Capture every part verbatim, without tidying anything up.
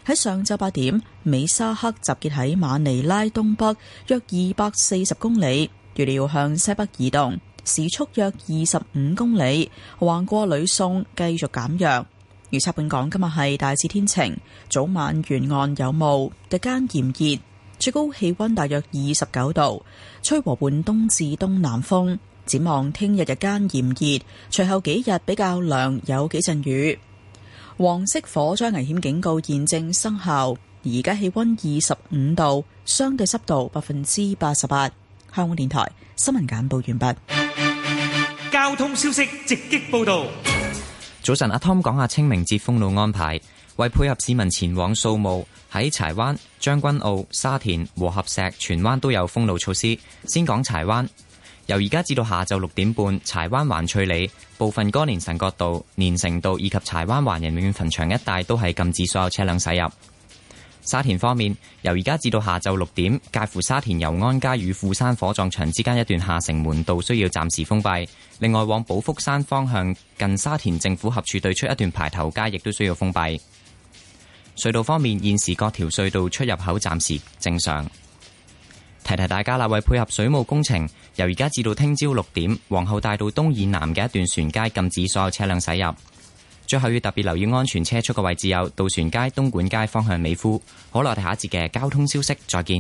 喺上晝八點，美沙克集結喺馬尼拉東北約二百四十公里，預料向西北移動，時速約二十五公里，橫過呂宋繼續減弱。預測本港今日係大致天晴，早晚沿岸有霧，日間炎熱，最高氣溫大約二十九度，吹和緩東至東南風。展望聽日日間炎熱，隨後幾日比較涼，有幾陣雨。黃色火災危險警告現正生效，而家氣溫二十五度，相對濕度百分之八十八。香港電台新聞簡報完畢。 交通消息直擊報道。 早晨，阿 Tom 講下清明節封路安排。為配合市民前往掃墓，喺柴灣、將軍澳、沙田、和合石、荃灣都有封路措施。先講柴灣。由而家至到下晝六點半，柴灣環翠里、部分歌連臣角道、連城道以及柴灣環人永遠墳場一帶都係禁止所有車輛駛入。沙田方面，由而家至到下晝六點，介乎沙田油安街與富山火葬場之間一段下城門道需要暫時封閉。另外，往寶福山方向近沙田政府合署對出一段排頭街亦都需要封閉。隧道方面，現時各條隧道出入口暫時正常。提提大家啦，為配合水務工程，由而家至到聽朝六點，皇后大道東以南嘅一段船街禁止所有車輛駛入。最後要特別留意安全車速嘅位置有渡船街、東莞街方向美孚。好啦，我哋下一節嘅交通消息再見。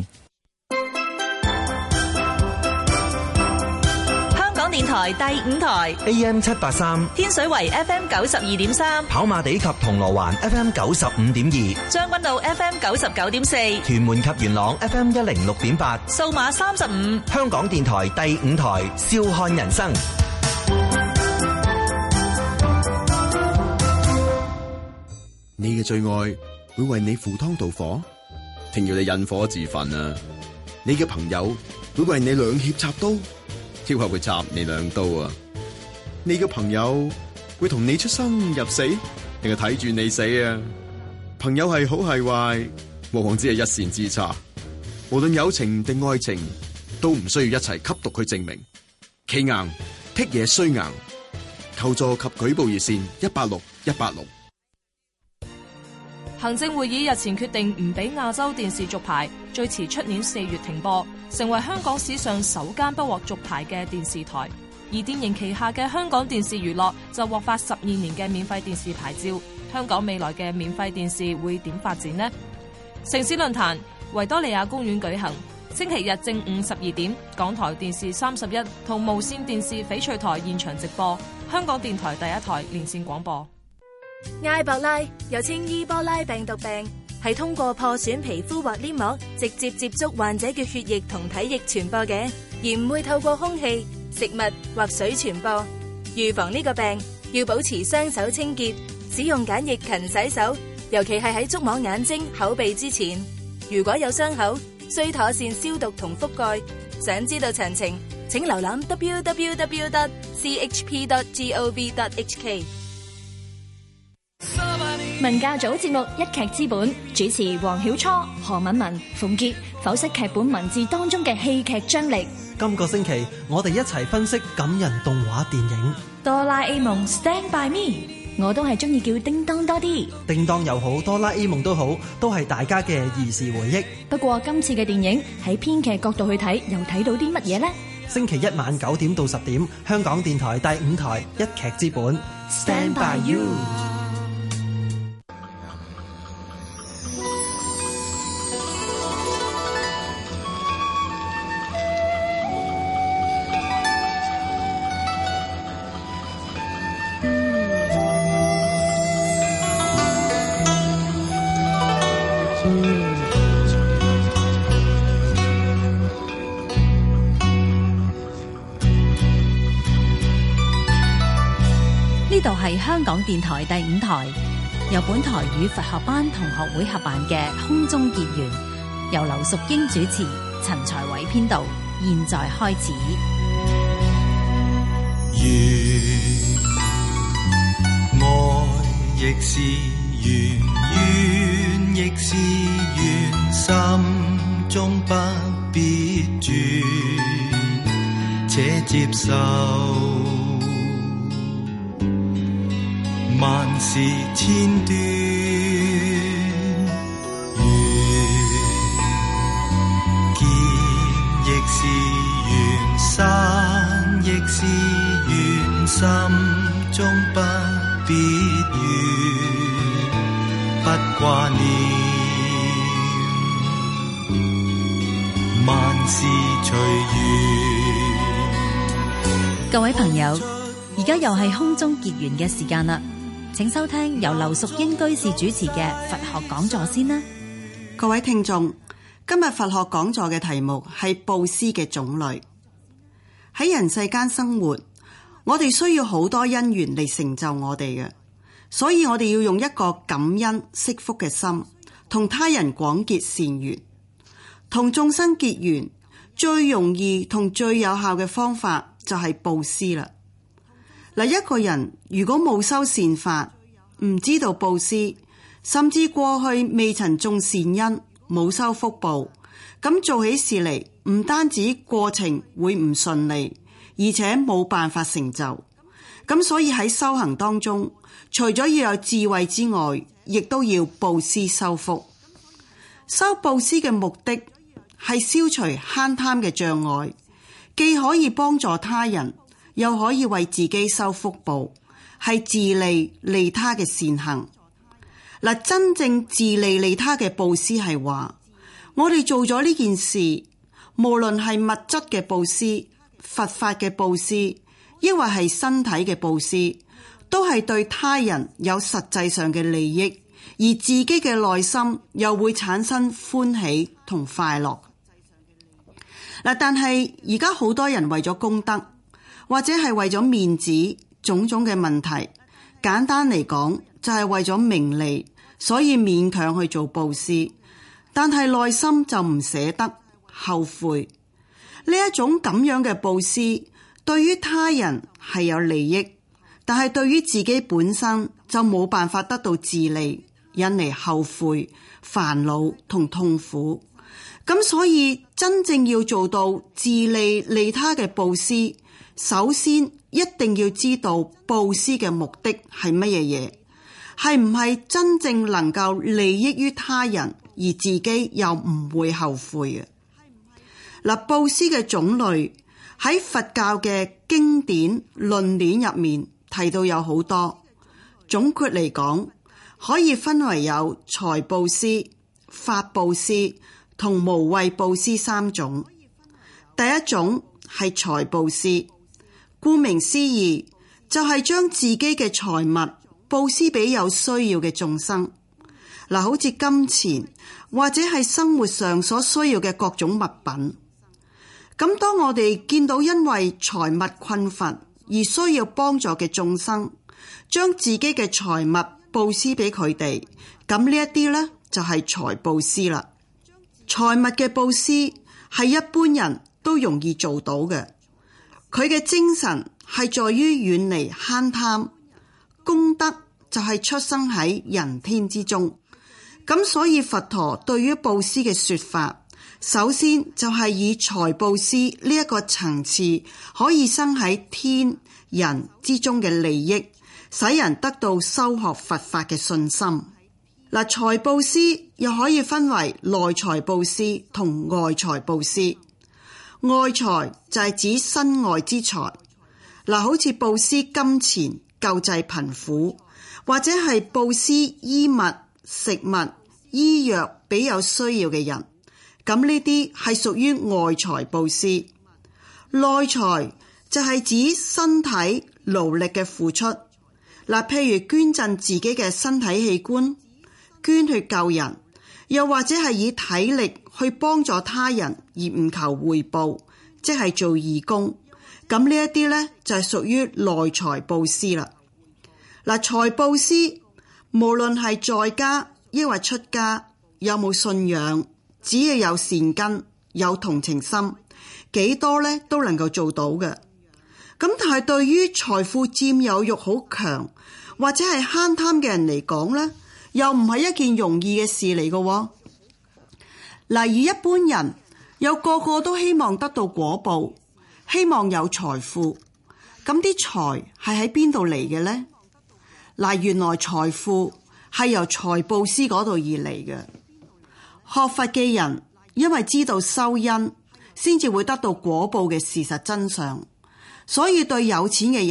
香港電台第五台 A M 七八三， 天水圍 F M 九十二點三， 跑馬地及銅鑼灣 F M 九十五點二， 將軍澳 F M 九十九點四， 屯門及元朗 F M 一零六點八， 數碼三十五。 香港電台第五台笑看人生。 你嘅最愛會為你赴湯蹈火，定要你引火自焚啊？你嘅朋友會為你兩肋插刀，抑或會插你兩刀啊？你嘅朋友會同你出生入死，定係睇住你死啊？朋友係好係壞，往往只係一線之差。無論友情定愛情，都唔需要一齊吸毒去證明。企硬剔嘢衰硬，求助及舉報熱線一八六一八六。 行政會議日前決定唔俾亞洲電視續牌，最遲出年四月停播，成為香港史上首間不獲續牌嘅電視台。而電盈旗下嘅香港電視娛樂就獲發十二年嘅免費電視牌照。香港未來嘅免費電視會點發展呢？城市論壇維多利亞公園舉行，星期日正午十二點，港台電視三十一同無線電視翡翠台現場直播，香港電台第一台連線廣播。 埃博拉又稱伊波拉病毒病，係通過破損皮膚或黏膜直接接觸患者嘅血液同體液傳播嘅，而唔會透過空氣、食物或水傳播。預防呢個病，要保持雙手清潔，使用梘液勤洗手，尤其係喺觸摸眼睛、口鼻之前。如果有傷口，需妥善消毒同覆蓋。想知道詳情，請瀏覽 w w w dot c h p dot gov dot h k。 文教組節目一劇之本，主持黃曉初、何敏文、馮傑剖析劇本文字當中嘅戲劇張力。 今個星期我哋一齊分析感人動畫電影哆啦 A 夢 Stand by me， 我都係中意叫叮當多啲。 叮當又好，哆啦 A 夢都好，都係大家嘅兒時回憶。 不過今次嘅電影喺編劇角度去睇，又睇到啲乜嘢呢？ 星期一晚九點到十點，香港電台第五台一劇之本 Stand by you。 呢度係香港電台第五台，由本台與佛學班同學會合辦嘅空中結緣，由劉淑英主持，陳才偉編導，現在開始。 緣愛亦是緣，怨亦是緣，心中不必轉，且接受萬事千端。 心中不必怨，不掛念，萬事隨緣。 各位朋友，而家又係空中結緣嘅時間啦，請收聽由劉淑英居士主持嘅佛學講座先啦。 各位聽眾，今日佛學講座嘅題目係布施嘅種類。喺人世間生活，我哋需要好多因緣嚟成就我哋嘅，所以我哋要用一個感恩惜福嘅心，同他人廣結善緣，同眾生結緣。最容易同最有效嘅方法就係布施啦。嗱，一個人如果冇修善法，唔知道布施，甚至過去未曾種善因，冇修福報，咁做起事嚟，唔單止過程會唔順利，而且冇辦法成就。咁所以喺修行當中，除咗要有智慧之外，亦都要布施修福。修布施嘅目的係消除慳貪嘅障礙，既可以幫助他人，又可以為自己修福報，係自利利他嘅善行。嗱，真正自利利他嘅布施係話，我哋做咗呢件事，無論係物質嘅布施、佛法嘅布施，抑或係身體嘅布施，都係對他人有實際上嘅利益，而自己嘅內心又會產生歡喜同快樂。嗱，但係而家好多人為咗功德，或者係為咗面子，種種嘅問題，簡單嚟講就係為咗名利，所以勉強去做布施，但係內心就唔捨得，後悔。呢一種咁樣嘅布施，對於他人係有利益，但係對於自己本身就冇辦法得到自利，引嚟後悔、煩惱同痛苦。咁所以真正要做到自利利他嘅布施，首先一定要知道布施嘅目的係乜嘢嘢，係唔係真正能夠利益於他人，而自己又唔會後悔嘅。嗱，布施嘅種類喺佛教嘅經典論典入面提到有好多，總括嚟講可以分為有財布施、法布施同無畏布施三種。第一種係財布施，顧名思義就係將自己嘅財物布施俾有需要嘅眾生。嗱，好似金錢或者係生活上所需要嘅各種物品。咁當我哋見到因為財物困乏而需要幫助嘅眾生，將自己嘅財物布施俾佢哋，咁呢一啲呢，就係財布施啦。財物嘅布施係一般人都容易做到嘅，佢嘅精神係在於遠離慳貪，功德就係出生喺人天之中。咁所以佛陀對於布施嘅說法，首先就係以財布施呢一個層次可以生喺天人之中嘅利益，使人得到修學佛法嘅信心。嗱，財布施又可以分為內財布施同外財布施。外財就係指身外之財，嗱，好似布施金錢救濟貧苦，或者係布施衣物、食物、醫藥俾有需要嘅人，咁呢啲係屬於外財布施。內財就係指身體勞力嘅付出，嗱，譬如捐贈自己嘅身體器官，捐去救人，又或者係以體力去幫助他人而唔求回報，即係做義工。咁呢一啲呢，就係屬於內財布施啦。嗱，財布施無論係在家抑或出家，有冇信仰，只要有善根、有同情心，幾多呢都能夠做到嘅。咁但係對於財富佔有欲好強或者係慳貪嘅人嚟講呢，又唔係一件容易嘅事嚟嘅。例如一般人有個個都希望得到果報，希望有財富，咁啲財係喺邊度嚟嘅呢？嗱，原來財富係由財布施嗰度而嚟嘅。學佛嘅人因為知道修因，先至會得到果報嘅事實真相，所以對有錢嘅人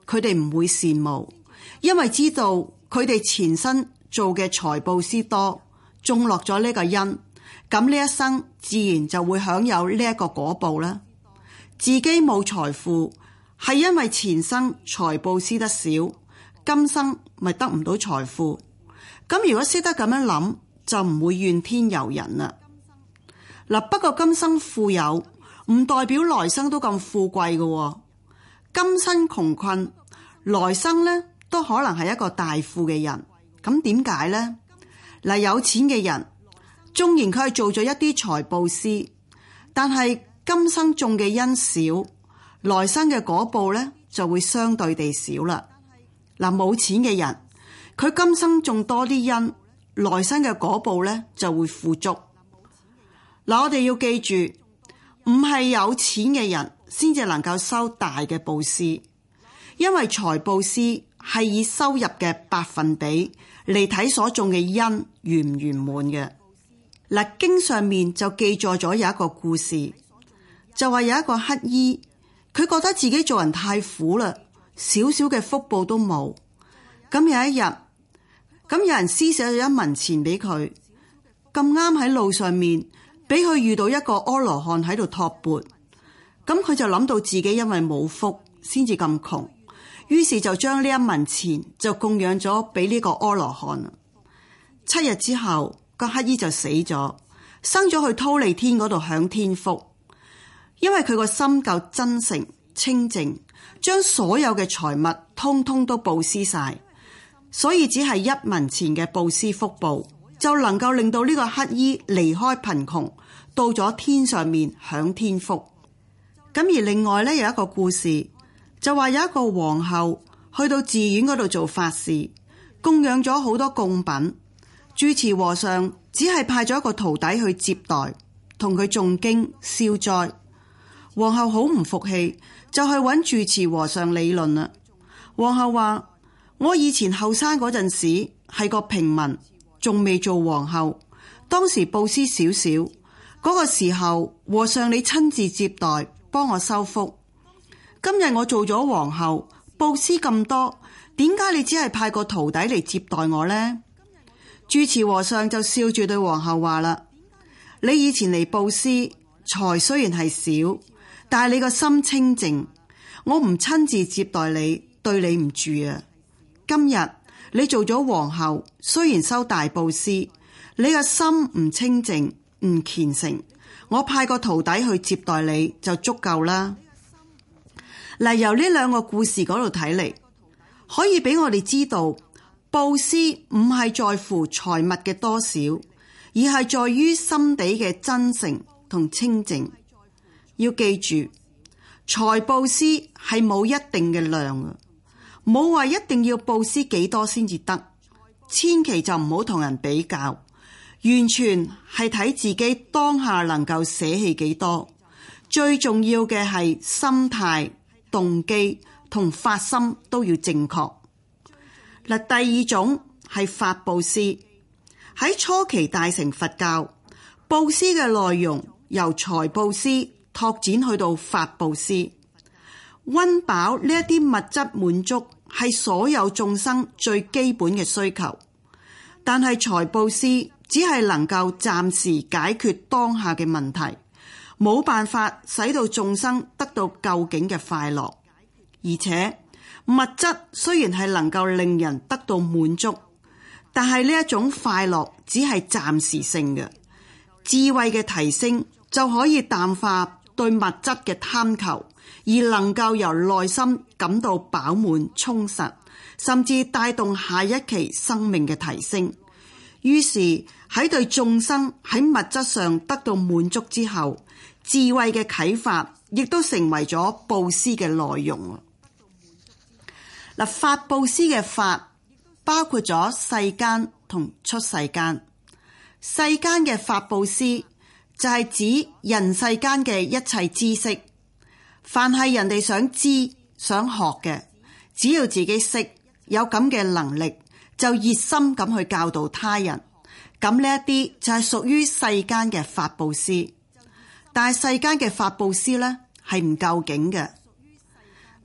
佢哋唔會羨慕，因為知道佢哋前身做嘅財布施多，種落咗呢個因，咁呢一生自然就會享有呢一個果報啦。自己冇財富，係因為前生財布施得少，今生咪得唔到財富。咁如果識得咁樣諗，就唔會怨天尤人啦。嗱，不過今生富有唔代表來生都咁富貴嘅，今生窮困，來生呢都可能係一個大富嘅人。咁點解呢？嗱，有錢嘅人縱然佢係做咗一啲財布施，但係今生種嘅因少，來生嘅果報呢就會相對地少啦。嗱，冇錢嘅人，佢今生種多啲因，來生嘅果報呢就會富足。嗱，我哋要記住，唔係有錢嘅人先至能夠收大嘅布施，因為財布施係以收入嘅百分比嚟睇所種嘅因圓唔圓滿嘅。嗱，經上面就記載咗有一個故事，就話有一個乞兒，佢覺得自己做人太苦啦，少少嘅福報都冇。咁有一日，咁有人施捨咗一文錢俾佢，咁啱喺路上面俾佢遇到一個阿羅漢喺度托缽，咁佢就諗到自己因為冇福先至咁窮，於是就將呢一文錢就供養咗俾呢個阿羅漢。七日之後，個乞兒就死咗，生咗去忉利天嗰度享天福。因為佢個心夠真誠清淨，將所有嘅財物通通都布施晒，所以只係一文錢嘅布施福報，就能夠令到呢個乞兒離開貧窮，到咗天上面享天福。咁而另外咧，有一個故事，就話有一個皇后去到寺院嗰度做法事，供養咗好多供品，住持和尚只係派咗一個徒弟去接待，同佢誦經消災。皇后好唔服氣，就去揾住持和尚理論啦。皇后話：我以前後生嗰陣時係個平民，仲未做皇后，當時布施少少，嗰個時候和尚你親自接待，幫我收福。今日我做咗皇后，布施咁多，點解你只係派個徒弟嚟接待我呢？住持和尚就笑住對皇后話啦：你以前嚟布施，財雖然係少，但係你個心清淨，我唔親自接待你，對你唔住啊。今日你做咗皇后，雖然收大布施，你個心唔清淨唔虔誠，我派個徒弟去接待你就足夠啦。嗱，由呢兩個故事嗰度睇嚟，可以俾我哋知道，布施唔係在乎財物嘅多少，而係在於心底嘅真誠同清淨。要記住，財布施係冇一定嘅量啊，冇話一定要布施幾多先至得，千祈就唔好同人比較，完全係睇自己當下能夠捨棄幾多。最重要嘅係心態、動機同發心都要正確。嗱，第二種係法布施。喺初期大乘佛教，布施嘅內容由財布施拓展去到法布施。溫飽呢一啲物質滿足係所有眾生最基本嘅需求，但係財布施只係能夠暫時解決當下嘅問題，冇辦法使到眾生得到究竟嘅快樂。而且物質雖然係能夠令人得到滿足，但係呢一種快樂只係暫時性嘅。智慧嘅提升就可以淡化對物質嘅貪求，而能夠由內心感到飽滿充實，甚至帶動下一期生命嘅提升。於是喺對眾生喺物質上得到滿足之後，智慧嘅啟發亦都成為咗布施嘅內容。嗱，法布施嘅法包括咗世間同出世間。世間嘅法布施就係指人世間嘅一切知識，凡係人哋想知想學嘅，只要自己識有咁嘅能力，就熱心咁去教導他人。咁呢一啲就係屬於世間嘅法布施。但係世間嘅法布施呢係唔夠境嘅。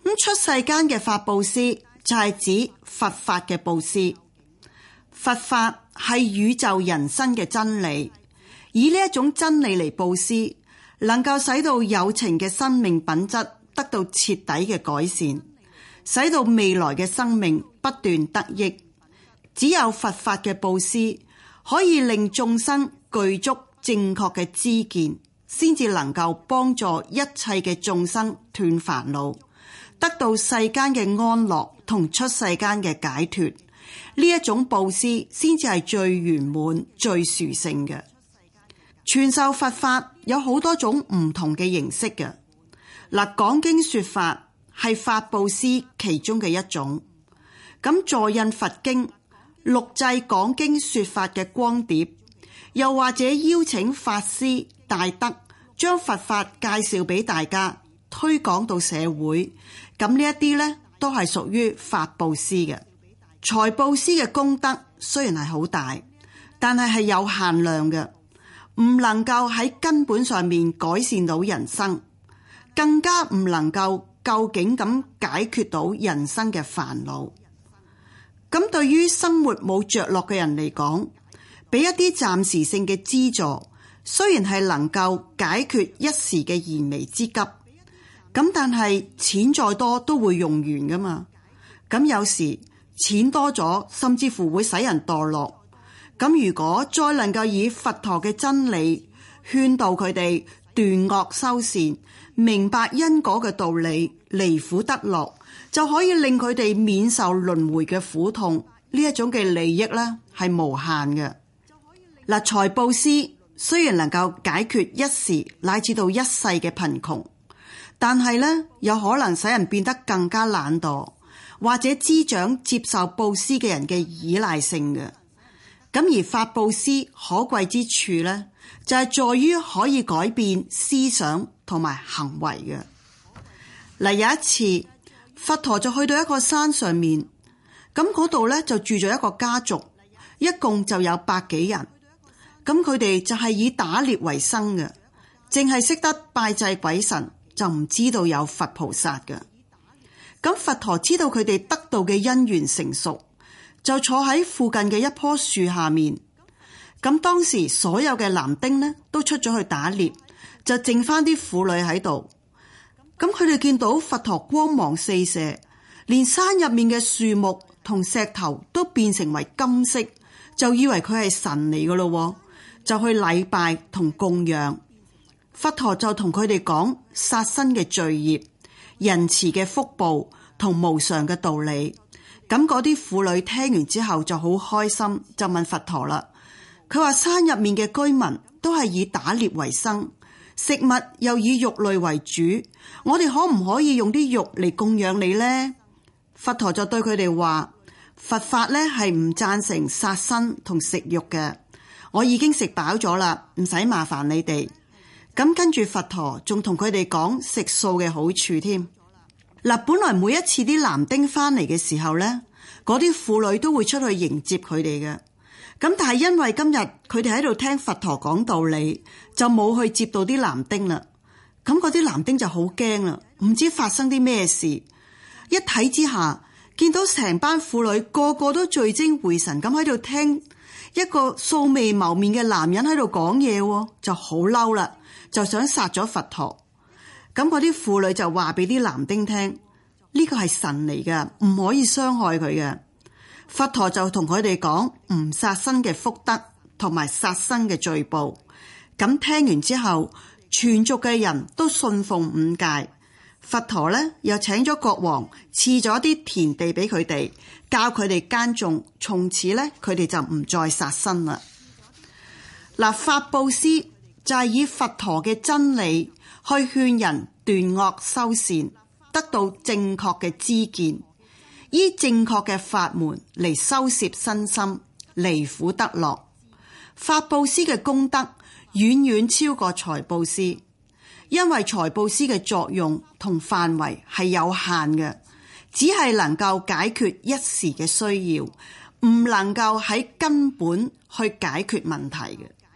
咁出世間嘅法布施就係指佛法嘅布施。佛法係宇宙人生嘅真理，以呢一種真理嚟布施，能夠使到有情嘅生命品質得到徹底嘅改善，使到未來嘅生命不斷得益。只有佛法嘅布施可以令眾生具足正確嘅知見，先至能夠幫助一切嘅眾生斷煩惱，得到世間嘅安樂同出世間嘅解脫。呢一種布施先至係最圓滿、最殊勝嘅。傳授佛法有好多種唔同嘅形式嘅。嗱，講經說法係法布施其中嘅一種。咁助印佛經、錄製講經說法嘅光碟，又或者邀請法師大德將佛法介紹俾大家，推廣到社會，咁呢一啲呢都係屬於法布施嘅。財布施嘅功德雖然係好大，但係係有限量嘅，唔能夠喺根本上面改善到人生，更加唔能夠究竟咁解決到人生嘅煩惱。咁對於生活冇着落嘅人嚟講，俾一啲暫時性嘅資助，雖然係能夠解決一時嘅燃眉之急，咁但係錢再多都會用完噶嘛。咁有時錢多咗，甚至乎會使人墮落。咁如果再能夠以佛陀嘅真理勸導佢哋斷惡修善，明白因果嘅道理，離苦得樂，就可以令佢哋免受輪迴嘅苦痛。呢一種嘅利益呢係無限嘅。嗱，財布施雖然能夠解決一時乃至到一世嘅貧窮，但係呢有可能使人變得更加懶惰，或者滋長接受布施嘅人嘅依賴性嘅。咁而法布施可貴之處呢，就係在於可以改變思想同埋行為嘅。嗱，有一次佛陀就去到一個山上面，咁嗰度呢就住咗一個家族，一共就有百幾人。咁佢哋就係以打獵為生嘅，淨係識得拜祭鬼神，就唔知道有佛菩薩嘅。咁佛陀知道佢哋得道嘅因緣成熟，就坐喺附近嘅一棵樹下面。咁當時所有嘅男丁呢都出咗去打獵，就剩翻啲婦女喺度。咁佢哋見到佛陀光芒四射，連山入面嘅樹木同石頭都變成為金色，就以為佢係神嚟噶咯，就去禮拜同供養。佛陀就同佢哋講殺生嘅罪業、仁慈嘅福報同無常嘅道理。咁嗰啲婦女聽完之後就好開心，就問佛陀啦。佢話山入面嘅居民都係以打獵為生，食物又以肉類為主，我哋可唔可以用啲肉嚟供養你呢？佛陀就對佢哋話：佛法咧係唔贊成殺生同食肉嘅，我已經食飽咗啦，唔使麻煩你哋。咁跟住佛陀仲同佢哋講食素嘅好處添。嗱，本來每一次啲男丁翻嚟嘅時候咧，嗰啲婦女都會出去迎接佢哋嘅。咁但係因為今日佢哋喺度聽佛陀講道理，就冇去接到啲男丁啦。咁嗰啲男丁就好驚啦，唔知發生啲咩事。一睇之下，見到成班婦女個個都聚精會神咁喺度聽一個素未謀面嘅男人喺度講嘢，就好嬲啦，就想殺咗佛陀。咁嗰啲婦女就話俾啲男丁聽，呢個係神嚟㗎，唔可以傷害佢嘅。佛陀就同佢哋講唔殺生嘅福德同埋殺生嘅罪報。咁聽完之後，全族嘅人都信奉五戒。佛陀呢又請咗國王賜咗啲田地俾佢哋，教佢哋耕種。從此呢，佢哋就唔再殺生啦。嗱，法布施就係以佛陀嘅真理去勸人斷惡修善，得到正確嘅知見，依正確嘅法門嚟修攝身心，離苦得樂。法布施嘅功德遠遠超過財布施，因為財布施嘅作用同範圍係有限嘅，只係能夠解決一時嘅需要，唔能夠喺根本去解決問題嘅。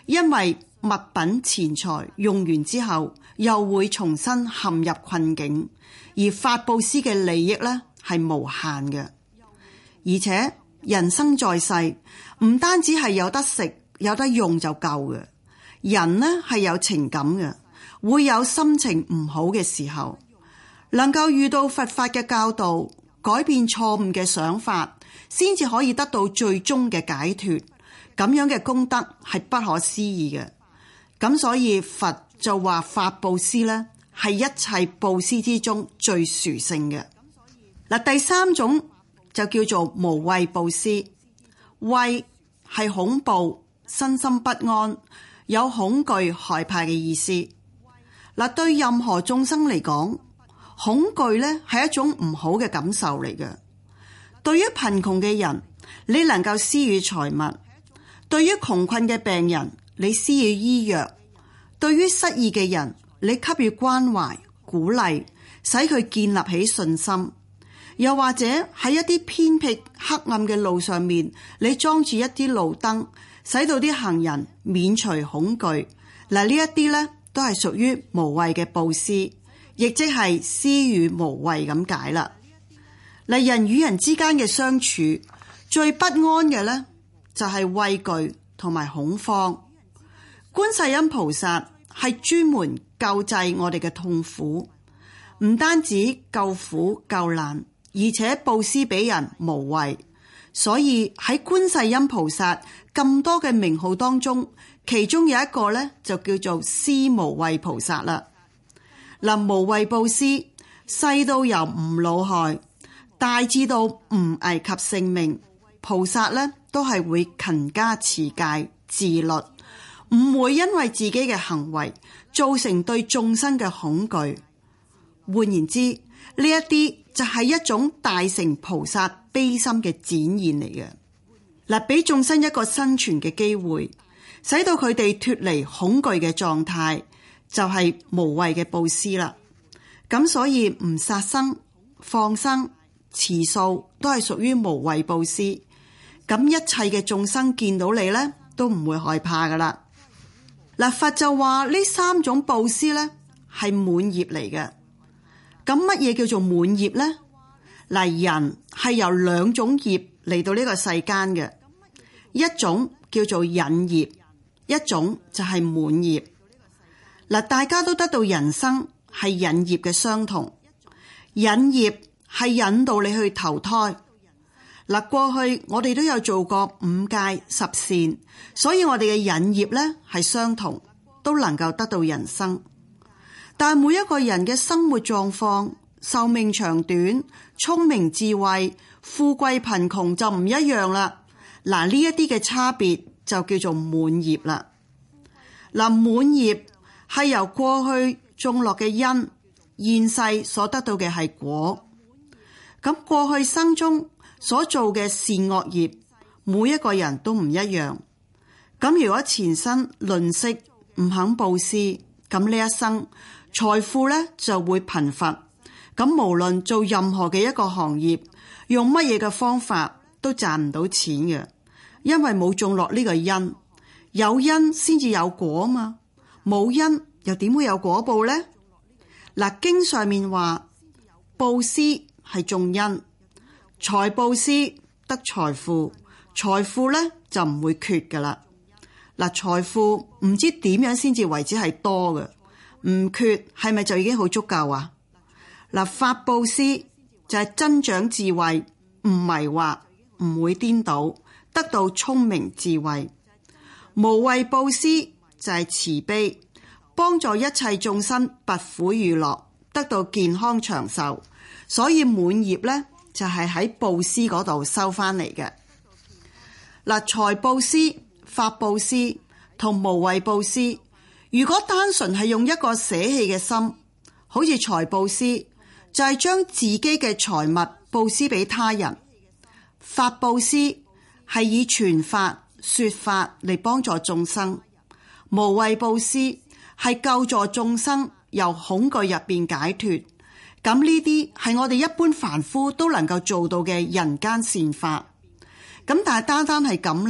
因為物品錢財用完之後又會重新陷入困境，而法布施嘅利益呢係無限嘅。而且人生在世唔單止係有得食有得用就夠嘅，人呢係有情感嘅，會有心情唔好嘅時候，能夠遇到佛法嘅教導，改變錯誤嘅想法，先至可以得到最終嘅解脫。咁樣嘅功德係不可思議嘅。咁所以佛就話法布施呢係一切布施之中最殊勝嘅。嗱，第三種就叫做無畏布施。畏係恐怖、身心不安、有恐懼、害怕嘅意思。嗱，對任何眾生嚟講，恐懼呢係一種唔好嘅感受嚟嘅。對於貧窮嘅人，你能夠施予財物；對於窮困嘅病人，你施予醫藥；對於失意嘅人，你給予關懷、鼓勵，使佢建立起信心。又或者喺一啲偏僻黑暗嘅路上面，你裝住一啲路燈，使到啲行人免除恐懼。嗱，呢一啲呢都係屬於無畏嘅布施，亦即係施予無畏咁解啦。嗱，人與人之間嘅相處最不安嘅呢，就係畏懼同埋恐慌。觀世音菩薩係專門救濟我哋嘅痛苦，唔單止救苦救難，而且布施俾人無畏。所以喺觀世音菩薩咁多嘅名號當中，其中有一個呢，就叫做施無畏菩薩啦。嗱，無畏布施細到由唔惱害，大至到唔危及性命，菩薩呢都係會勤加持戒自律，唔會因為自己嘅行為造成對眾生嘅恐懼。換言之，呢一啲就係一種大乘菩薩悲心嘅展現嚟嘅。嗱，俾眾生一個生存嘅機會，使到佢哋脫離恐懼嘅狀態，就係無畏嘅布施啦。咁所以唔殺生、放生、持素都係屬於無畏布施。咁一切嘅眾生見到你呢，都唔會害怕噶啦。嗱，佛就話呢三種布施呢係滿業嚟嘅。咁乜嘢叫做滿業呢？嗱，人係由兩種業嚟到呢個世間嘅，一種叫做引業，一種就係滿業。嗱，大家都得到人生係引業嘅相同，引業係引導你去投胎。嗱，過去我哋都有做過五戒十善，所以我哋嘅引業呢係相同，都能夠得到人生。但每一個人嘅生活狀況、壽命長短、聰明智慧、富貴貧窮就唔一樣啦。嗱，呢一啲嘅差別就叫做滿業啦。嗱，滿業係由過去種落嘅因，現世所得到嘅係果。咁過去生中所做嘅善惡業，每一個人都唔一樣。咁如果前生吝嗇唔肯布施，咁呢一生財富咧就會貧乏。咁無論做任何嘅一個行業，用乜嘢嘅方法都賺唔到錢嘅，因為冇種落呢個因。有因先至有果嘛，冇因又點會有果報呢？嗱，經上面話布施係種因，財布施得財富，財富咧就唔會缺噶啦。嗱，財富唔知點樣先至為之係多嘅，唔缺係咪就已經好足夠啊？嗱，法布施就係增長智慧，唔迷惑，唔會顛倒，得到聰明智慧。無畏布施就係慈悲，幫助一切眾生拔苦與樂，得到健康長壽。所以滿業咧就係喺布施嗰度收翻嚟嘅。嗱，財布施、法布施同無畏布施，如果單純係用一個捨棄嘅心，好似財布施就係將自己嘅財物布施俾他人，法布施係以傳法說法嚟幫助眾生，無畏布施係救助眾生由恐懼入邊解脫。咁呢啲係我哋一般凡夫都能夠做到嘅人間善法。咁但係單單係咁呢，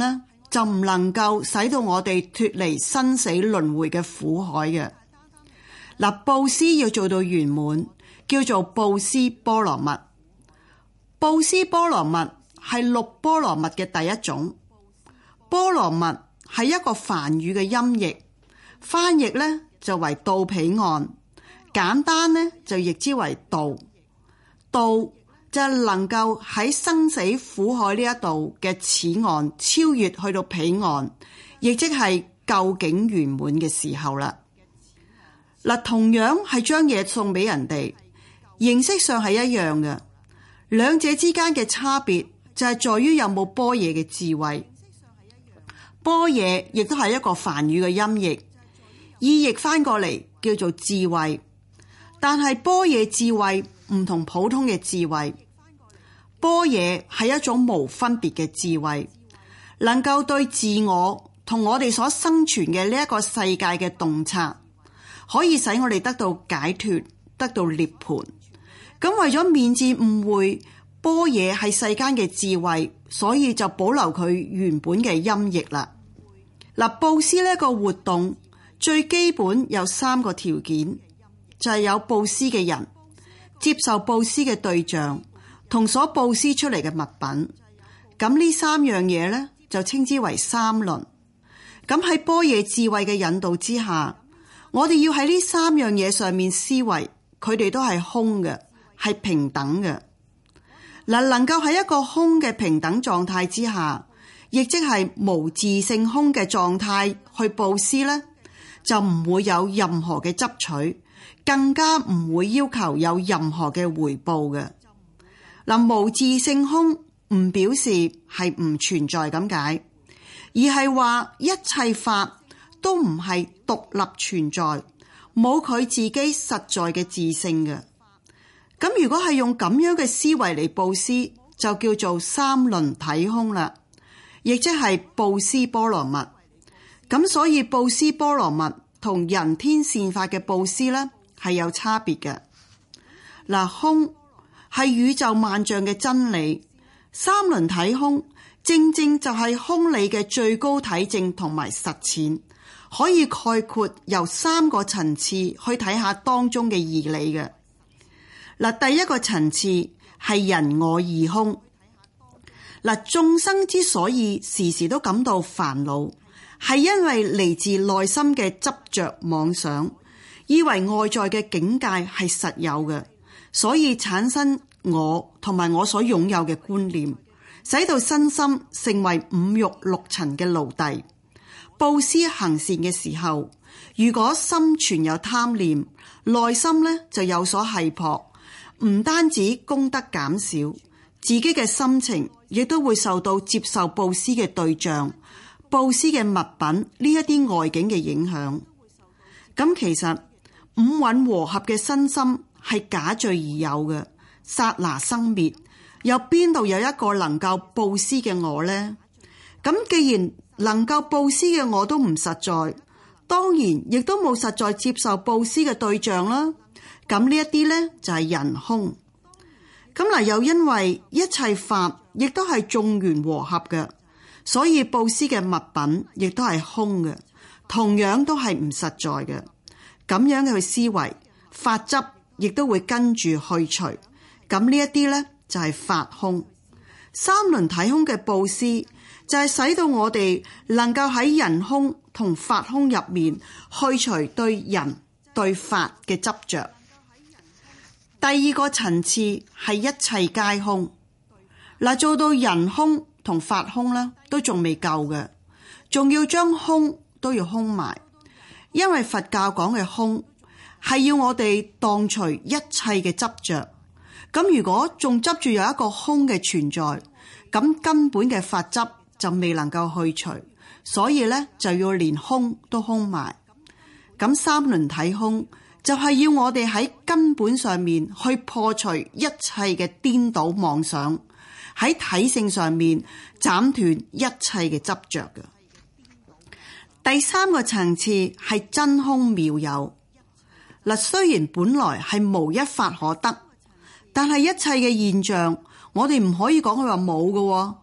就唔能夠使到我哋脫離生死輪迴嘅苦海嘅。嗱，布施要做到圓滿，叫做布施波羅蜜。布施波羅蜜係六波羅蜜嘅第一種。波羅蜜係一個梵語嘅音譯，翻譯咧就為到彼岸，簡單咧就譯之為道。道就係能夠喺生死苦海呢一度嘅此岸超越去到彼岸，亦即係究竟圓滿嘅時候啦。嗱，同樣係將嘢送俾人哋，形式上係一樣嘅，兩者之間嘅差別就係在於有冇般若嘅智慧。般若亦都係一個梵語嘅音譯，意譯翻過嚟叫做智慧，但係般若智慧唔同普通嘅智慧。般若係一種無分別嘅智慧，能夠對自我同我哋所生存嘅呢一個世界嘅洞察，可以使我哋得到解脫，得到涅槃。咁為咗免致誤會般若係世間嘅智慧，所以就保留佢原本嘅音譯啦。嗱，布施呢一個活動最基本有三個條件，就係有布施嘅人、接受布施嘅對象同所布施出嚟嘅物品。咁呢三樣嘢咧就稱之為三輪。咁喺般若智慧嘅引導之下，我哋要喺呢三樣嘢上面思維，佢哋都係空嘅，係平等嘅。嗱，能夠喺一個空嘅平等狀態之下，亦即係無自性空嘅狀態去布施咧，就唔會有任何嘅執取，更加唔會要求有任何嘅回報嘅。嗱，無自性空唔表示係唔存在咁解，而係話一切法都唔係獨立存在，冇佢自己實在嘅自性嘅。咁如果係用咁樣嘅思維嚟布施，就叫做三輪體空啦，亦即係布施波羅蜜。咁所以布施波羅蜜同人天善法嘅布施咧係有差別嘅。嗱，空係宇宙萬象嘅真理，三輪體空正正就係空理嘅最高體證同埋實踐，可以概括由三個層次去睇下當中嘅義理嘅。嗱，第一個層次係人我二空。嗱，眾生之所以時時都感到煩惱，係因為嚟自內心嘅執着妄想，以為外在嘅境界係實有嘅，所以產生我同埋我所擁有嘅觀念，使到身心成為五欲六塵嘅奴隸。布施行善嘅時候，如果心存有貪念，內心呢就有所繫迫，唔單止功德減少，自己嘅心情亦都會受到接受布施嘅對象、布施嘅物品呢一啲外境嘅影響。咁其實五蘊和合嘅身心係假聚而有嘅，剎那生滅，又邊度有一個能夠布施嘅我呢？咁既然能夠布施嘅我都唔實在，當然亦都冇實在接受布施嘅對象啦。咁呢一啲呢，就係人空。咁嗱，又因為一切法亦都係眾緣和合嘅，所以布施嘅物品亦都係空嘅，同樣都係唔實在嘅。咁樣嘅去思維，法執亦都會跟住去除。咁呢一啲呢，就係法空。三輪體空嘅布施就係使到我哋能夠喺人空同法空入面去除對人對法嘅執着。第二個層次係一切皆空。嗱，做到人空同法空咧，都仲未夠嘅，仲要將空都要空埋。因為佛教講嘅空係要我哋蕩除一切嘅執着。咁如果仲執住有一個空嘅存在，咁根本嘅法執就未能夠去除，所以咧就要連空都空埋。咁三輪體空就係要我哋喺根本上面去破除一切嘅顛倒妄想，喺體性上面斬斷一切嘅執着嘅。第三個層次係真空妙有。嗱，雖然本來係無一法可得，但係一切嘅現象，我哋唔可以講佢話冇嘅。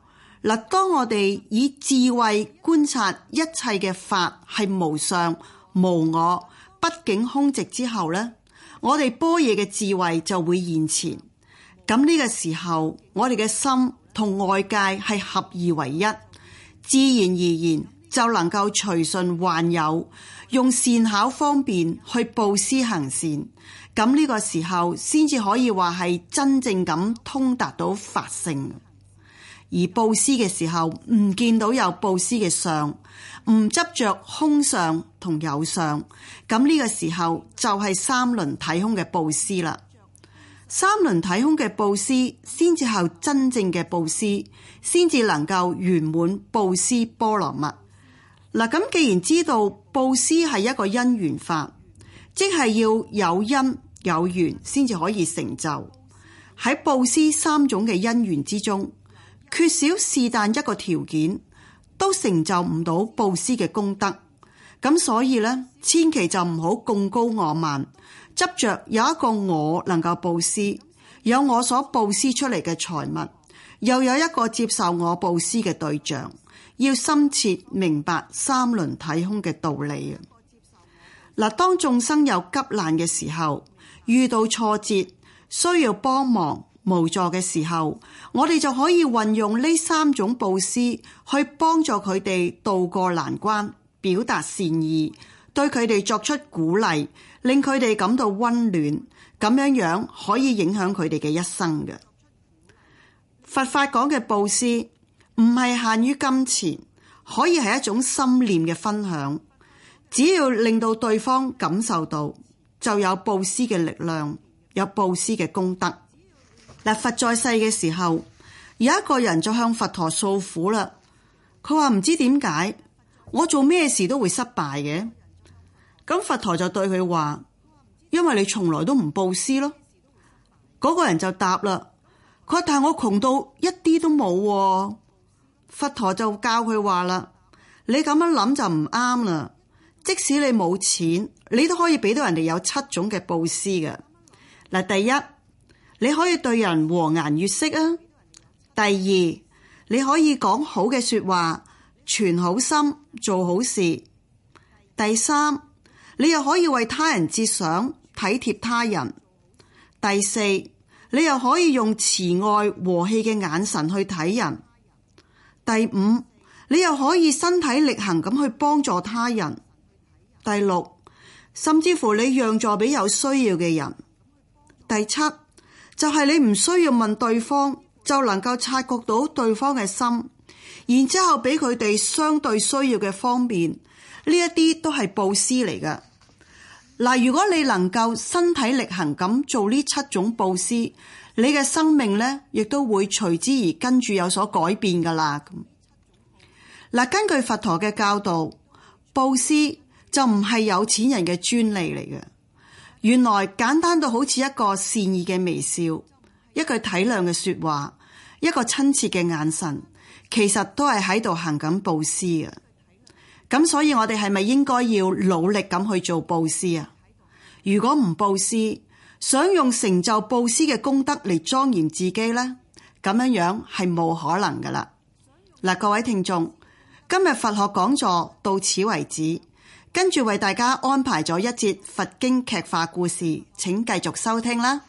嗱，當我哋以智慧觀察一切嘅法係無上無我畢竟空寂之後呢，我哋般若嘅智慧就會現前。咁呢個時候，我哋嘅心同外界係合二為一，自然而然就能夠隨順萬有，用善巧方便去布施行善。咁呢個時候先至可以話係真正咁通達到法性。而布施嘅時候唔見到有布施嘅相，唔執着空相同有相，咁呢個時候就係三輪體空嘅布施啦。三輪體空嘅布施先至係真正嘅布施，先至能夠圓滿布施波羅蜜。嗱，咁既然知道布施係一個因緣法，即係要有因有緣先至可以成就。喺布施三種嘅因緣之中，缺少是但一個條件，都成就唔到布施嘅功德。咁所以咧，千祈就唔好貢高我慢，執着有一個我能夠布施，有我所布施出嚟嘅財物，又有一個接受我布施嘅對象，要深切明白三輪體空嘅道理。嗱，當眾生有急難嘅時候，遇到挫折，需要幫忙無助嘅時候，我哋就可以運用呢三種布施去幫助佢哋渡過難關，表達善意，對佢哋作出鼓勵，令佢哋感到溫暖，咁樣樣可以影響佢哋嘅一生嘅。佛法講嘅布施唔係限於金錢，可以係一種心念嘅分享，只要令到對方感受到，就有布施嘅力量，有布施嘅功德。嗱，佛在世嘅時候，有一個人就向佛陀訴苦啦。佢話唔知點解我做咩事都會失敗嘅。咁佛陀就對佢話：因為你從來都唔布施咯。嗰個人就答啦，佢話但係我窮到一啲都冇。佛陀就教佢話啦：你咁樣諗就唔啱啦。即使你冇錢，你都可以俾到人哋有七種嘅布施嘅。嗱，第一，你可以對人和顏悅色啊。第二，你可以講好嘅說話，存好心，做好事。第三，你又可以為他人設想，體貼他人。第四，你又可以用慈愛和氣嘅眼神去睇人。第五，你又可以身體力行咁去幫助他人。第六，甚至乎你讓座俾有需要嘅人。第七，就係你唔需要問對方，就能夠察覺到對方嘅心，然之後俾佢哋相對需要嘅方便，呢一啲都係布施嚟㗎。嗱，如果你能夠身體力行咁做呢七種布施，你嘅生命呢亦都會隨之而跟住有所改變噶啦。嗱，根據佛陀嘅教導，布施就唔係有錢人嘅專利嚟嘅。原來簡單到好似一個善意嘅微笑，一句體諒嘅說話，一個親切嘅眼神，其實都係喺度行緊布施嘅。咁所以我哋係咪應該要努力咁去做布施啊？如果唔布施，想用成就布施嘅功德嚟莊嚴自己呢，咁樣樣係冇可能噶啦。嗱，各位聽眾，今日佛學講座到此為止。跟住為大家安排咗一節佛經劇化故事，請繼續收聽啦。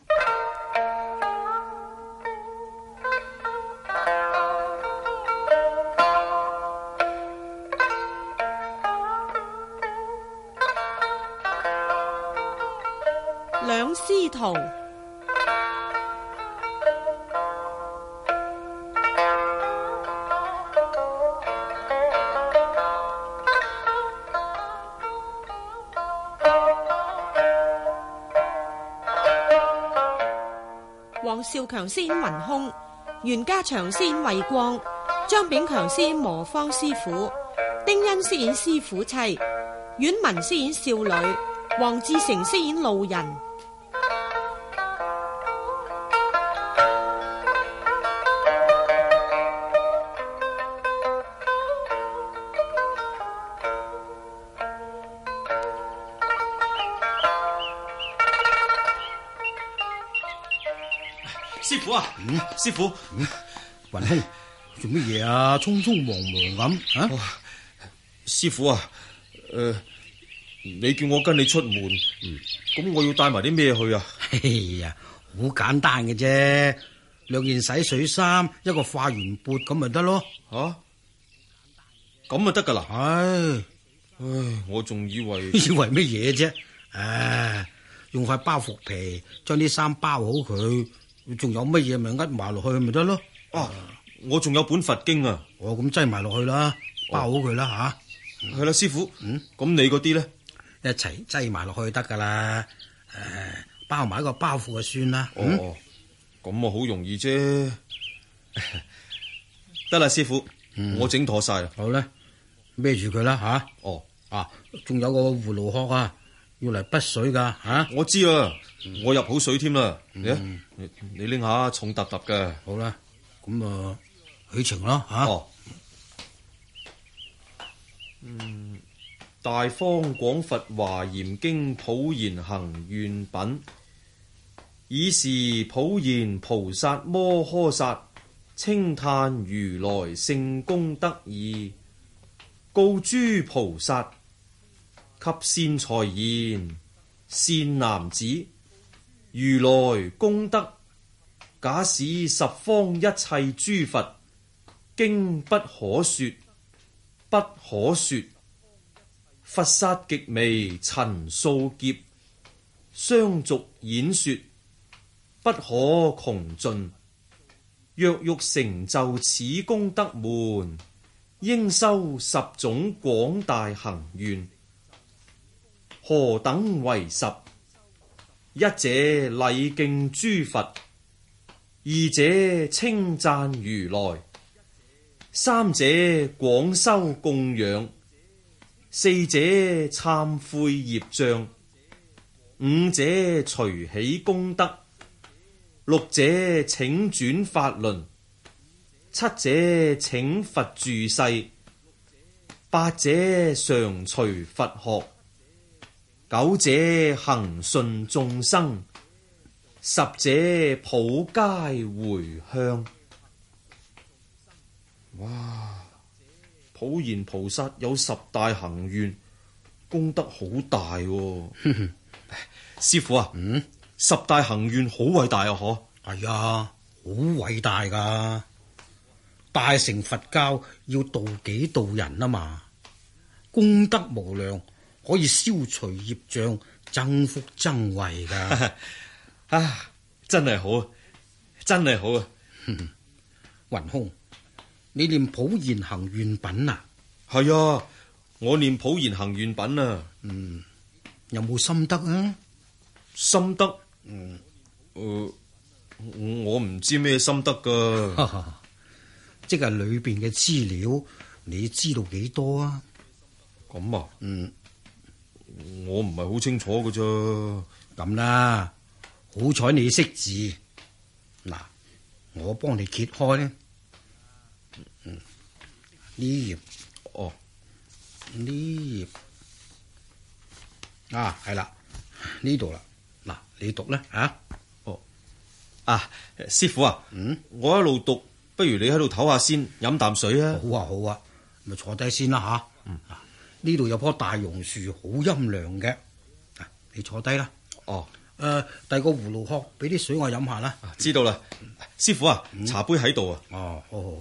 兩師徒。黃少強飾演雲空，袁家祥飾演慧光，張炳強飾演磨坊師傅，丁恩飾演師傅妻，阮文飾演少女，黃志成飾演路人。 師傅啊，嗯、師傅， 雲空， 做乜嘢啊？匆匆忙忙咁啊！ 哦、師傅啊，誒、呃，你叫我跟你出門，咁、嗯、我要帶埋啲咩去啊？ 哎呀，好簡單嘅啫，兩件洗水衫，一個化完缽咁咪得咯。 吓、啊，咁就得噶啦？ 唉， 唉，我仲以為以為乜嘢啫？唉，用塊包袱皮將啲衫包好佢，仲有乜嘢咪呃埋落去咪得咯？ 啊！我仲有本佛經啊！ 我咁擠埋落去啦，包好佢啦吓。 係啦，師傅。嗯，咁你嗰啲咧， 一齊擠埋落去得噶啦。誒，包埋一個包袱就算啦。 哦，咁啊好容易啫。得啦，師傅，我整妥晒啦。 好啦，孭住佢啦吓。 哦， 啊，仲有個葫蘆殼啊，要嚟滗水噶吓。 我知啊，我入好水添啦。你你拎下，重揼揼嘅。 好啦，咁啊。許情咯吓， 哦、嗯，大方廣佛華嚴經普賢行願品，以是普賢菩薩摩訶薩稱歎如來聖功德義，告諸菩薩及善財言，善男子，如來功德假使十方一切諸佛經不可說，不可說，佛剎極微塵數劫，相續演說，不可窮盡。若欲成就此功德門，應修十種廣大行願。何等為十？一者禮敬諸佛，二者稱讚如來，三者廣修供養，四者懺悔業障，五者隨喜功德，六者請轉法輪，七者請佛住世，八者常隨佛學，九者恆順眾生，十者普皆迴向。哇！普賢菩薩有十大行願，功德好大喎。師傅啊，嗯，十大行願好偉大啊！嗬， 係啊，好偉大噶。大乘佛教要度己度人啊嘛，功德無量，可以消除業障，增福增慧噶。 啊，真係好，真係好啊！ 雲空。你念普賢行願品啊？ 係啊，我念普賢行願品啊。 嗯，有冇心得啊？ 心得？嗯，誒、呃，我唔知咩心得噶。 即係裏邊嘅資料，你知道幾多啊？ 咁啊？ 嗯， 我唔係好清楚噶啫。 咁啦，好彩你識字。嗱，我幫你揭開咧。嗯，呢頁， 哦， 呢頁啊，係啦，呢度啦，嗱，你讀咧啊， 哦，啊，師傅啊，嗯，我一路讀，不如你喺度唞下先，飲啖水啊。 好啊，好啊，咪坐低先啦吓。嗯，呢度有棵大榕樹，好陰涼嘅，啊，你坐低啦。 哦， 誒、呃，遞個葫蘆殼，俾啲水我飲下啦。 知道啦，師傅啊， 嗯、 茶杯喺度啊。 哦，好好。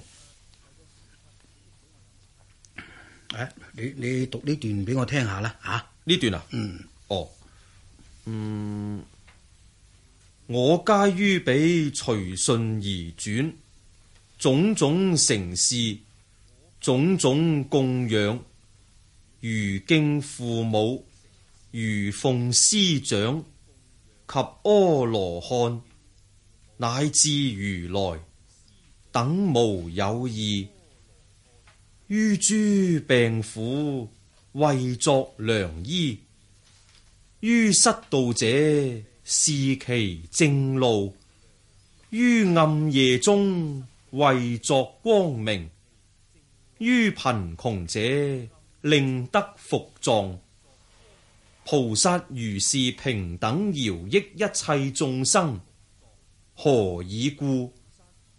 誒，你你讀呢段俾我聽下啦，吓呢段啊？ 嗯， 哦，嗯，我皆於彼隨順而轉，種種承事，種種供養，如敬父母，如奉師長，及阿羅漢，乃至如來，等無有異。於諸病苦為作良醫，於失道者示其正路，於暗夜中為作光明，於貧窮者令得伏藏。菩薩如是平等饒益一切眾生，何以故？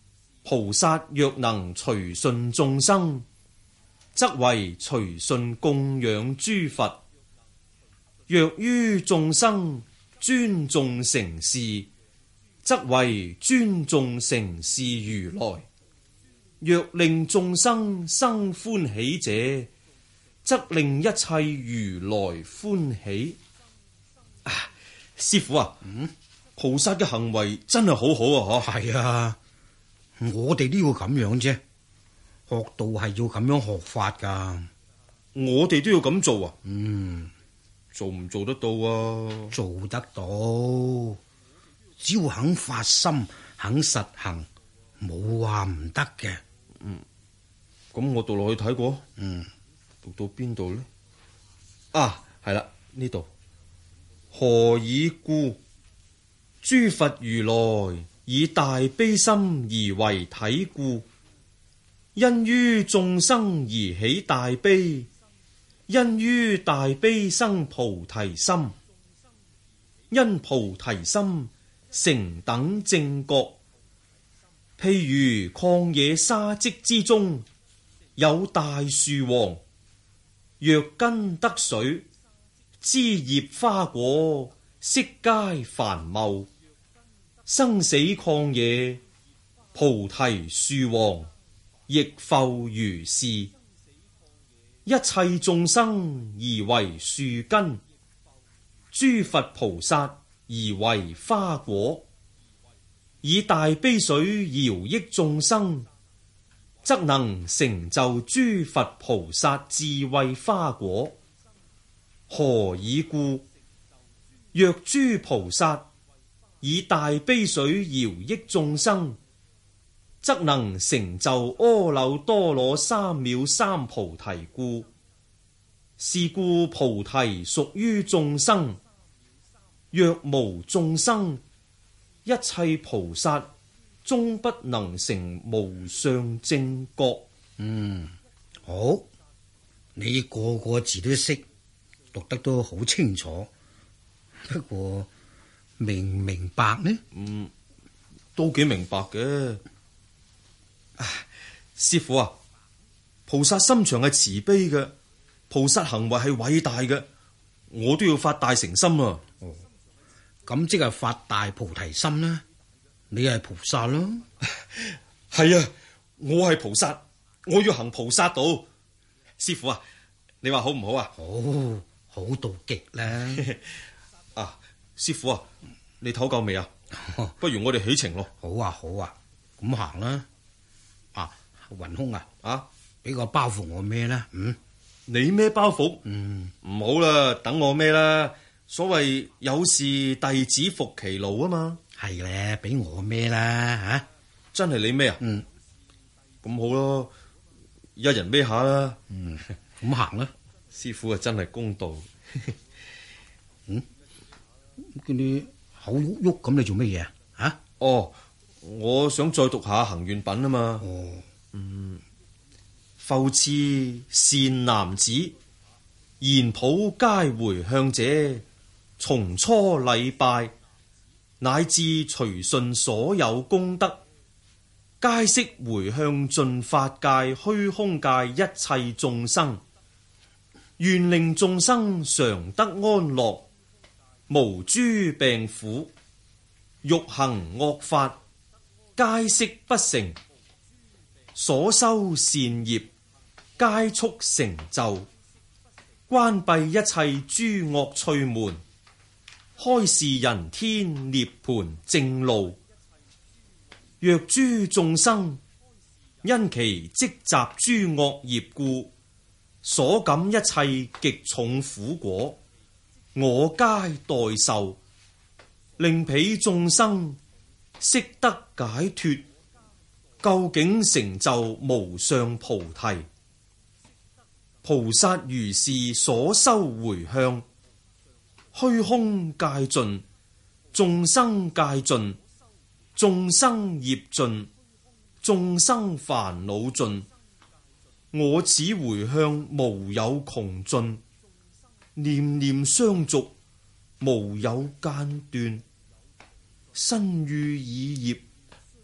菩薩若能隨順眾生，則為隨順供養諸佛；若於眾生尊重承事，則為尊重承事如來；若令眾生生歡喜者，則令一切如來歡喜。啊，師父啊，嗯，菩薩嘅行為真係好好啊！嗬， 係啊，我哋都要咁樣啫，學道係要咁樣學法噶。 我哋都要咁做啊？ 嗯， 做唔做得到啊？ 做得到，只要肯發心，肯實行，冇話唔得嘅。 嗯，咁我讀落去睇過。 嗯， 讀到邊度呢？啊，係啦，呢度。何以故？諸佛如來以大悲心而為體故，因於眾生而起大悲，因於大悲生菩提心，因菩提心成等正覺。譬如曠野沙積之中有大樹王，若根得水，枝葉花果悉皆繁茂。生死曠野，菩提樹王亦復如是。一切眾生而為樹根，諸佛菩薩而為花果。以大悲水饒益眾生，則能成就諸佛菩薩智慧花果。何以故？若諸菩薩以大悲水饒益眾生，則能成就阿耨多羅三藐三菩提故。是故菩提屬於眾生，若無眾生，一切菩薩終不能成無上正覺。 嗯，好，你個個字都識，讀得都好清楚。不過明唔明白呢？ 嗯，都幾明白嘅。啊，師父啊，菩薩心腸係慈悲嘅，菩薩行為係偉大嘅，我都要發大誠心啊！ 哦，咁即係發大菩提心啦。你係菩薩咯。 係啊，我係菩薩，我要行菩薩道。師父啊，你話好唔好啊？ 好，好到極啦。 啊，師父啊，你唞夠未啊？不如我哋起程咯。 好啊，好啊，咁行啦。啊，雲空啊， 啊， 俾個包袱我孭啦。嗯， 你孭包袱？ 嗯， 唔好啦，等我孭啦。所謂有事弟子服其勞啊嘛。 係咧，俾我孭啦吓。 真係你孭啊？ 嗯， 咁好咯，一人孭下啦。 嗯，咁行啦。 師父啊，真係公道。 嗯，見你口喐喐咁，你做乜嘢啊？啊？ 哦，我想再讀下行願品啊嘛。 哦， 嗯，復次善男子，言普皆回向者，從初禮拜，乃至隨順所有功德，皆悉回向盡法界、虛空界一切眾生，願令眾生常得安樂，無諸病苦，欲行惡法，皆悉不成，所修善業，皆速成就，關閉一切諸惡趣門，開示人天涅槃正路。若諸眾生因其積集諸惡業故，所感一切極重苦果，我皆代受，令彼眾生悉得解脫，究竟成就無上菩提。菩薩如是所修回向，虛空界盡，眾生界盡，眾生業盡，眾生煩惱盡，我此回向無有窮盡，念念相續，無有間斷，身語意業，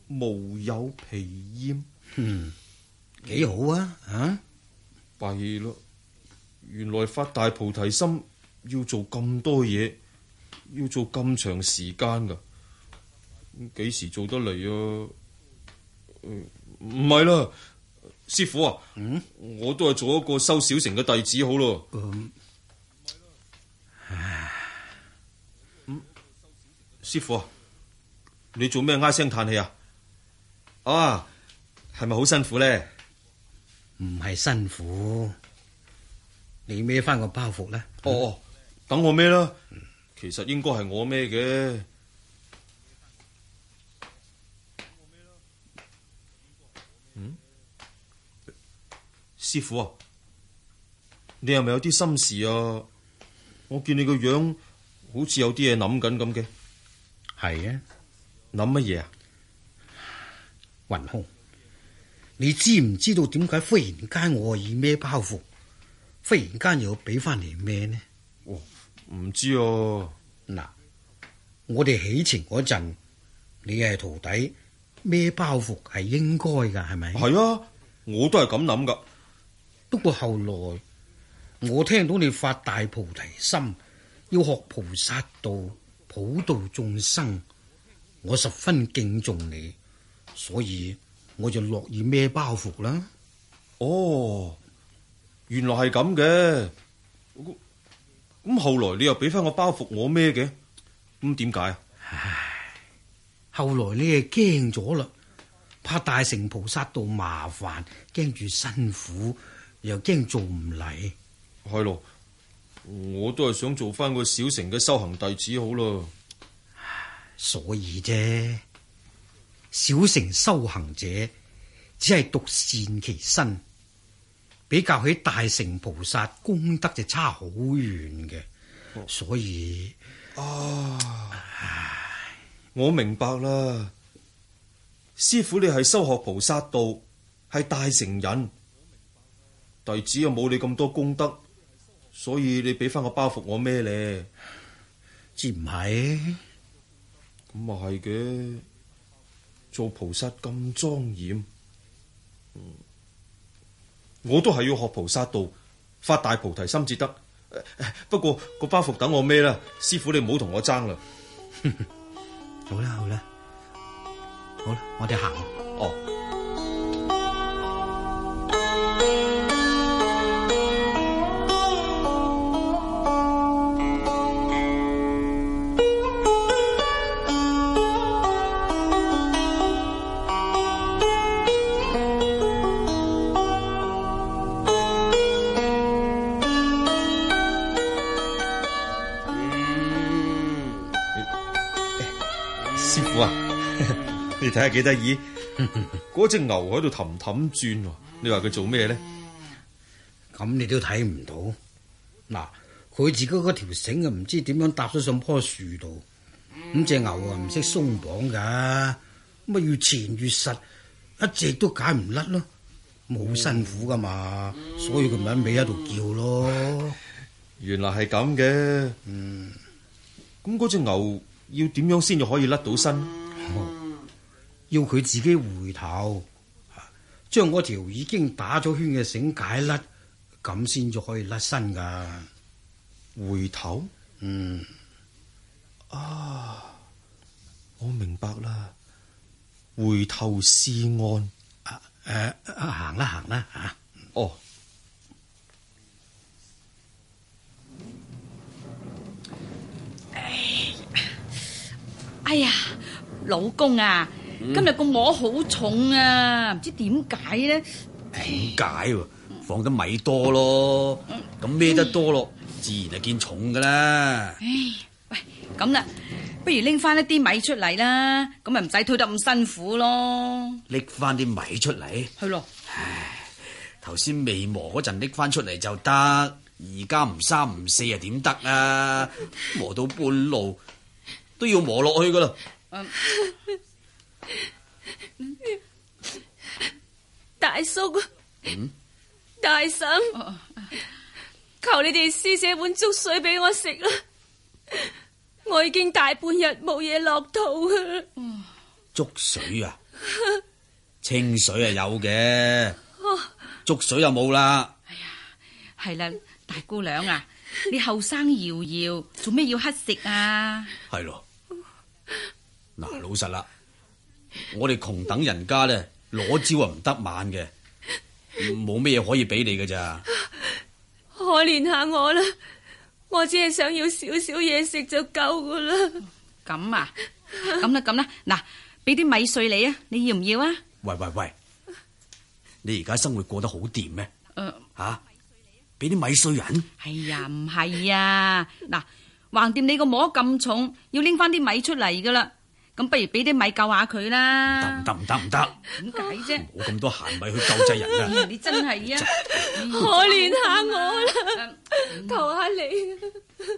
無有疲厭。 嗯，幾好啊！啊， 弊咯，原來發大菩提心要做咁多嘢，要做咁長時間噶，幾時做得嚟啊？唔係啦，師傅啊，嗯、我都係做一個收小乘嘅弟子好咯。嗯，嗯，師傅啊，你做咩唉聲嘆氣啊？啊，係咪好辛苦咧？ 唔係辛苦，你孭翻個包袱啦。 哦哦，等我孭啦。其實應該係我孭嘅。嗯，師傅啊，你係咪有啲心事啊？我見你個樣好似有啲嘢諗緊咁嘅。 係啊， 諗乜嘢啊？ 雲空，你知唔知道點解忽然間我要孭包袱，忽然間又要俾翻嚟孭呢？ 哦，唔知啊。 嗱，我哋起程嗰陣，你係徒弟，孭包袱係應該噶，係咪？ 係啊，我都係咁諗噶。 不過後來我聽到你發大菩提心，要學菩薩道，普度眾生，我十分敬重你，所以我就樂意孭包袱啦。 哦，原來係咁嘅。咁後來你又俾翻個包袱我孭嘅，咁點解啊？ 唉，後來你係驚咗啦，怕大乘菩薩道麻煩，驚住辛苦，又驚做唔嚟。 係咯，我都係想做翻個小乘嘅修行弟子好咯。 所以啫，小乘修行者只係獨善其身，比較起大乘菩薩功德就差好遠嘅。哦、所以啊，唉，我明白啦。師傅你係修學菩薩道，係大乘人，弟子又冇你咁多功德，所以你俾翻個包袱我孭咧， 知唔係？ 咁啊係嘅，做菩薩咁莊嚴，嗯，我都係要學菩薩道，發大菩提心至得。不過個包袱等我孭啦，師傅你唔好同我爭啦。 好啦好啦，好啦，我哋行。 哦。你睇下幾得意，嗰隻牛喺度氹氹轉，你話佢做咩咧？ 咁你都睇唔到。嗱，佢自己嗰條繩啊，唔知點樣搭咗上棵樹度。咁隻牛啊，唔識鬆綁噶，咁啊越纏越實，一直都解唔甩咯。冇辛苦噶嘛，所以佢咪喺尾喺度叫咯。 原來係咁嘅。嗯，咁嗰隻牛要點樣先至可以甩到身？ 哦，要佢自己回頭，將嗰條已經打咗圈嘅繩解甩，咁先至可以甩身噶。 回頭？ 嗯， 啊，我明白啦。回頭是岸。 啊誒、啊，行啦行啦吓。 哦。 哎呀，老公啊！今日個磨好重啊，唔知點解咧？ 點解？放得米多咯，咁孭得多咯，自然係見重噶啦。 唉，喂，咁啦，不如拎翻一啲米出嚟啦，咁咪唔使推得咁辛苦咯。 拎翻啲米出嚟？ 係咯。 唉，頭先未磨嗰陣拎翻出嚟就得，而家唔三唔四啊點得啊？磨到半路都要磨落去噶啦。嗯大叔， 嗯、 大嬸，求你哋施捨碗粥水俾我食啦！我已經大半日冇嘢落肚啊！ 粥水啊？ 清水係有嘅，粥水就冇啦。 係啦，大姑娘啊，你後生搖搖，做咩要乞食啊？ 係咯，嗱，老實啦，我哋窮等人家咧，攞招啊唔得晚嘅，冇咩嘢可以俾你㗎咋。 可憐下我啦，我只係想要少少嘢食就夠噶啦。 咁啊，咁啦咁啦，嗱，俾啲米碎你啊，你要唔要啊？ 喂喂喂，你而家生活過得好掂咩？ 誒， 吓，俾啲米碎人？ 哎呀，唔係啊，嗱，橫掂你個磨咁重，要拎翻啲米出嚟噶啦，咁不如俾啲米救下佢啦。 唔得唔得唔得， 點解啫？ 冇咁多閒米去救濟人啊！ 你真係啊， 可憐下我啦，求下你。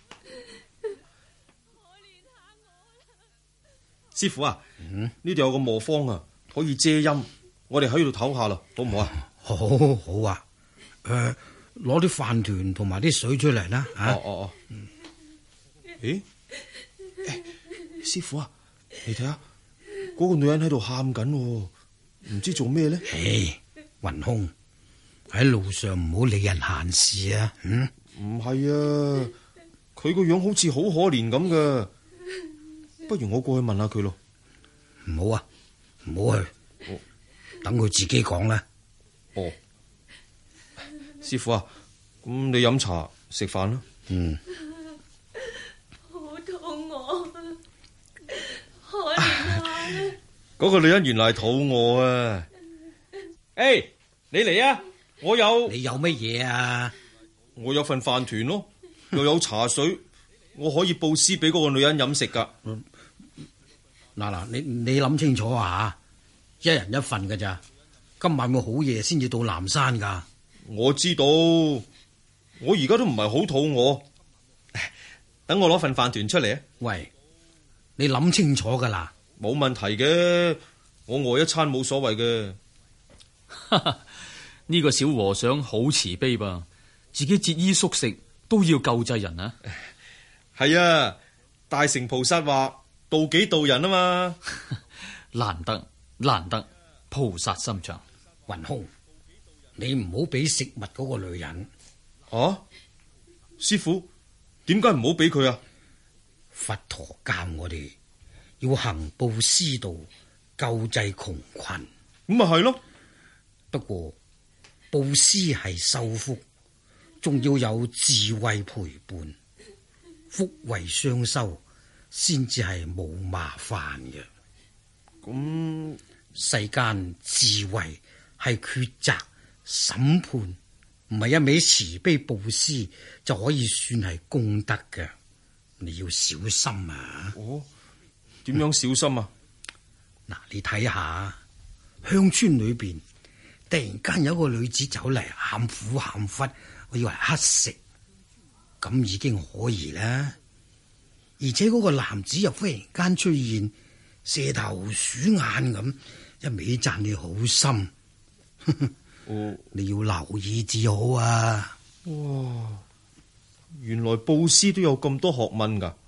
師傅啊，呢度有個磨坊啊，可以遮陰，我哋喺度唞下啦，好唔好啊？ 好，好啊。誒，攞啲飯團同埋啲水出嚟啦。 哦哦哦。誒，師傅啊，你睇下，嗰個女人喺度喊緊，唔知做咩咧？ 誒，雲空，喺路上唔好理人閒事啊。嗯， 唔係啊，佢個樣好似好可憐咁噶。不如我過去問下佢咯。 唔好啊，唔好去，哦、等佢自己講啦。 哦，師傅啊，咁你飲茶食飯啦。嗯。 好肚餓，可憐啊！ 嗰個女人原來係肚餓啊！誒、hey, 你嚟啊！我有。 你有乜嘢啊？ 我有份飯團咯，又有茶水，我可以布施俾嗰個女人飲食噶。 嗯嗱嗱，你你諗清楚啊！一人一份㗎咋？今晚會好夜先至到南山噶。 我知道，我而家都唔係好肚餓。等我攞份飯團出嚟啊！ 喂，你諗清楚噶啦， 冇問題嘅，我餓一餐冇所謂嘅。 呢個小和尚好慈悲噃，自己節衣縮食都要救濟人啊！ 係啊，大乘菩薩話。度己度人啊嘛， 難得難得，菩薩心腸。 雲空，你唔好俾食物嗰個女人。 啊，師傅，點解唔好俾佢啊？ 佛陀教我哋要行布施道，救濟窮困。 咁咪係咯。 不過布施係修福，仲要有智慧陪伴，福慧雙修。先至係冇麻煩嘅。咁世間智慧係抉擇審判，唔係一味慈悲布施就可以算係功德嘅。你要小心啊！ 哦，點樣小心啊？ 嗱、嗯，你睇下鄉村裏邊，突然間有個女子走嚟，喊苦喊忽，我以為乞食，咁已經可疑啦。而且嗰個男子又忽然間出現，蛇頭鼠眼咁，一味讚你好心。哦、你要留意至好啊！ 哇，原來布施都有咁多學問噶。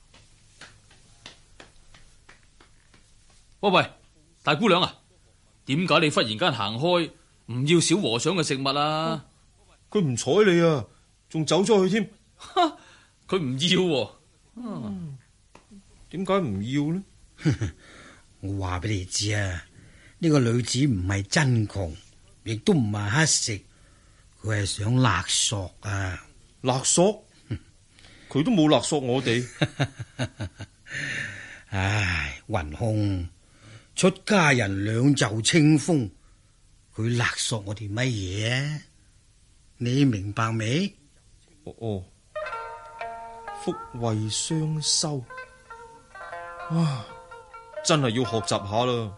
喂喂，大姑娘啊，點解你忽然間行開，唔要小和尚嘅食物啊？ 佢唔睬你啊，仲走咗去添。 佢唔要、啊。 嗯，點解唔要呢？ 我話俾你知啊，呢、這個女子唔係真窮，亦都唔係乞食，佢係想勒索啊！ 勒索？佢都冇勒索我哋。 唉，雲空，出家人兩袖清風，佢勒索我哋乜嘢啊？你明白未？ 哦哦。福慧雙修，啊，真係要學習下啦！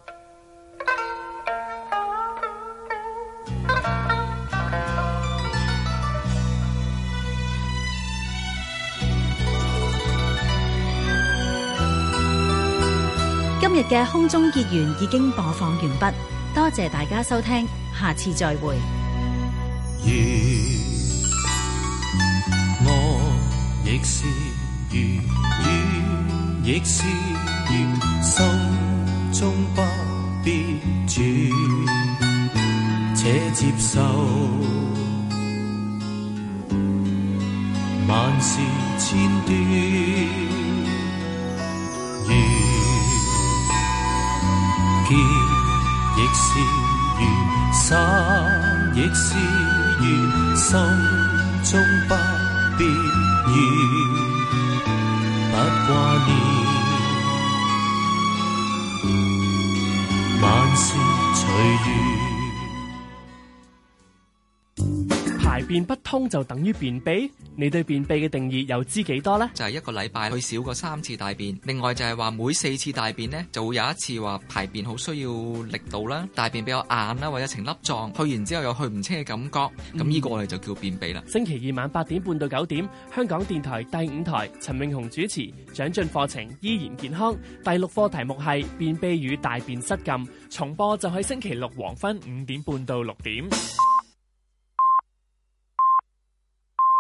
今日嘅空中結緣已經播放完畢，多謝大家收聽，下次再會。 亦是如雨，亦是如心中不必轉，且接受萬事千端，緣結亦是緣，散亦是緣，心中不必怨，不掛念，萬事隨緣。 排便不通就等於便秘？你對便秘嘅定義又知幾多呢？ 就係一個禮拜去少過三次大便，另外就係話每四次大便呢，就會有一次話排便好需要力度啦，大便比較硬啦，或者呈粒狀，去完之後有去唔清嘅感覺，咁呢個我哋就叫便秘啦。 星期二晚八點半到九點，香港電台第五台，陳永雄主持，長進課程依然健康。第六課題目係便秘與大便失禁，重播就喺星期六黃昏五點半到六點。